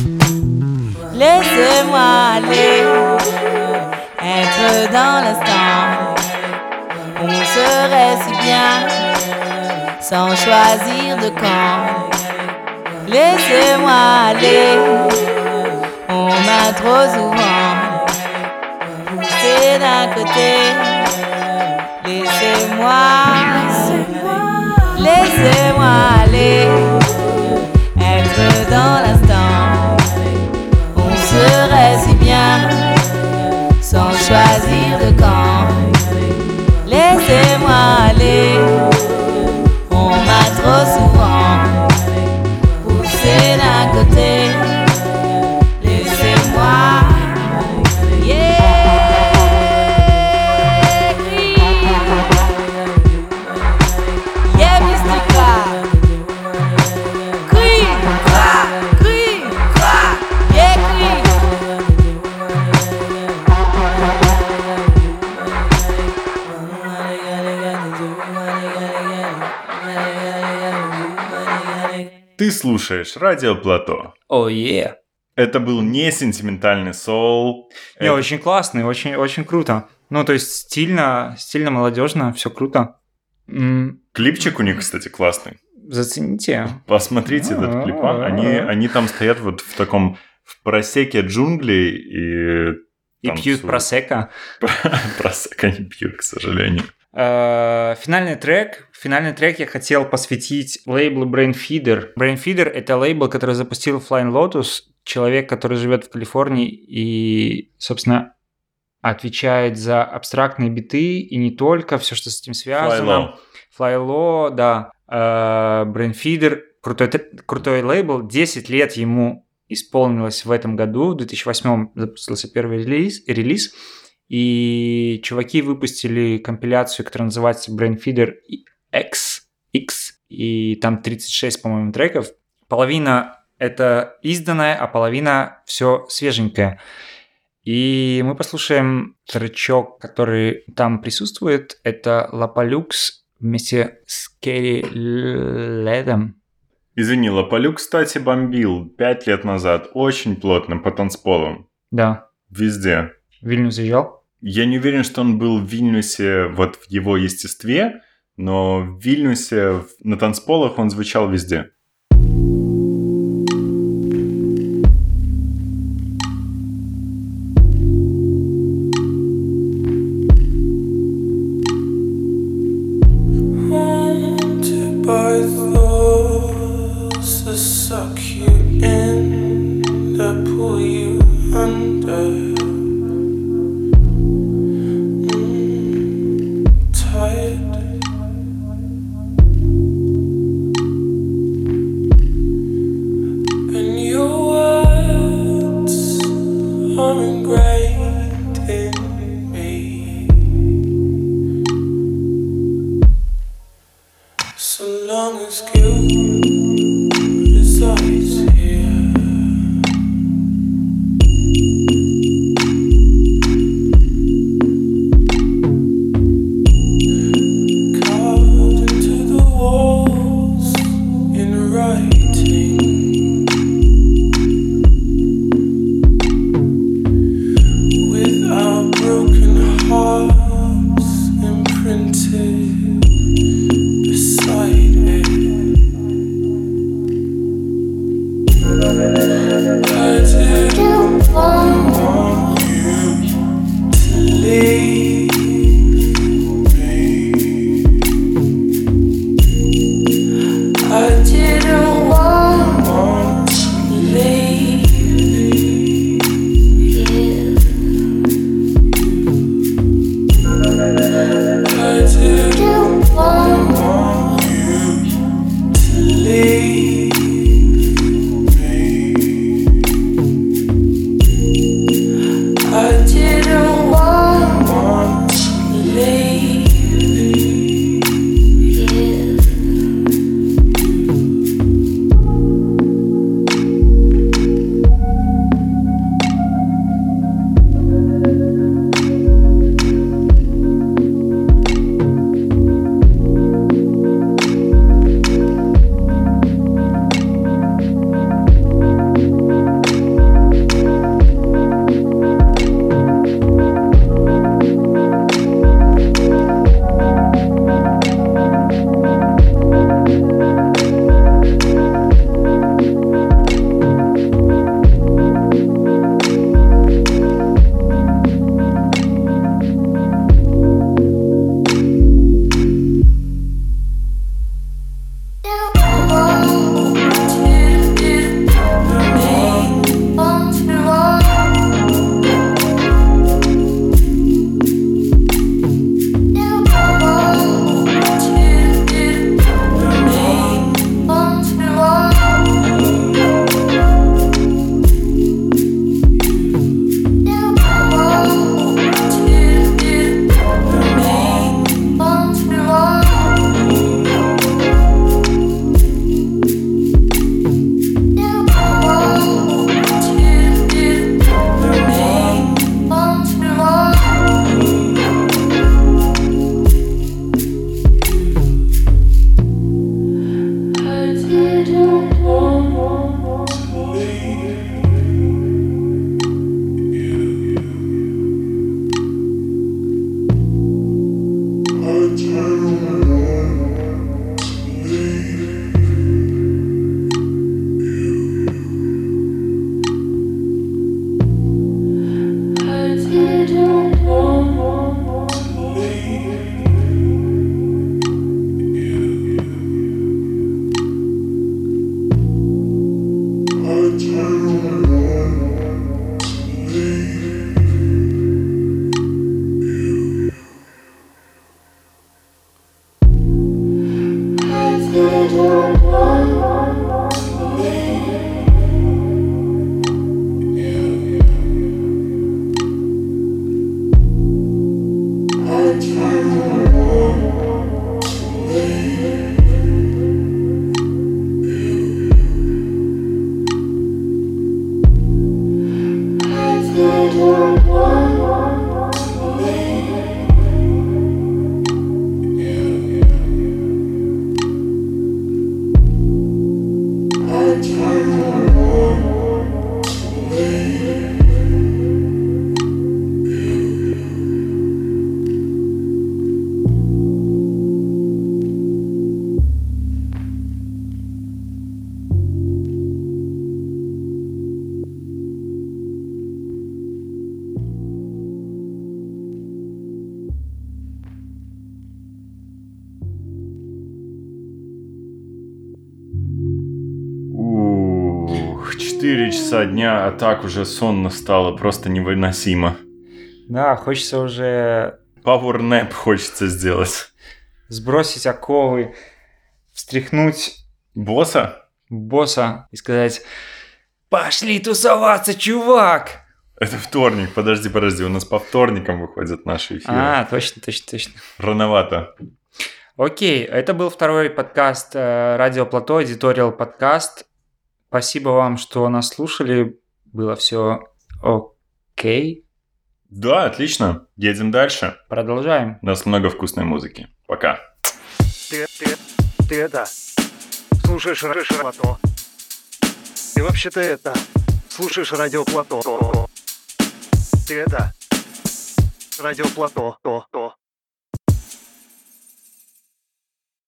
Laissez-moi aller, être dans l'instant. On serait si bien, sans choisir de camp. Laissez-moi aller, on m'a trop souvent poussé d'un côté. Laissez-moi aller, être dans l'instant. On serait si bien, sans choisir de camp. Laissez-moi aller, on m'a trop souvent d'un côté, laissez-moi, mystica, crie, Ты слушаешь Радио Плато. Это был не сентиментальный соул. Не, очень классный, очень круто. Ну, то есть стильно, молодежно, все круто. Клипчик у них, кстати, классный. Зацените. Посмотрите этот клип. Они там стоят вот в таком в просеке джунглей и пьют просека. Просека не пьют, к сожалению. Финальный трек я хотел посвятить лейблу Brainfeeder. Brainfeeder — это лейбл, который запустил Flying Lotus, человек, который живет в Калифорнии и, собственно, отвечает за абстрактные биты и не только, все, что с этим связано. Flylo, да. Brainfeeder — крутой лейбл. 10 лет ему исполнилось в этом году. В 2008 запустился первый релиз. И чуваки выпустили компиляцию, которая называется Brainfeeder X. И там 36, по-моему, треков. Половина это изданное, а половина все свеженькое. И мы послушаем тречок, который там присутствует. Это La Palux вместе с Керри Ледом. Извини, Лополю, кстати, бомбил 5 лет назад очень плотно по танцполам. Да. Везде. В Вильнюс заезжал? Я не уверен, что он был в Вильнюсе вот в его естестве, но в Вильнюсе на танцполах он звучал везде. Ух, 4 часа дня, а так уже сонно стало, просто невыносимо. Да, хочется уже Power-nap хочется сделать. сбросить оковы, встряхнуть Босса? босса и сказать: «Пошли тусоваться, чувак!» Это вторник, подожди, у нас по вторникам выходят наши эфиры. А, точно. Рановато. Окей, это был второй подкаст Радио Плато, Editorial подкаст. Спасибо вам, что нас слушали. Было все окей. Да, отлично. Едем дальше. Продолжаем. У нас много вкусной музыки. Пока. Ты это, слушаешь Плато. Ты вообще-то это, слушаешь Радио Плато. Ты это, Радио Плато.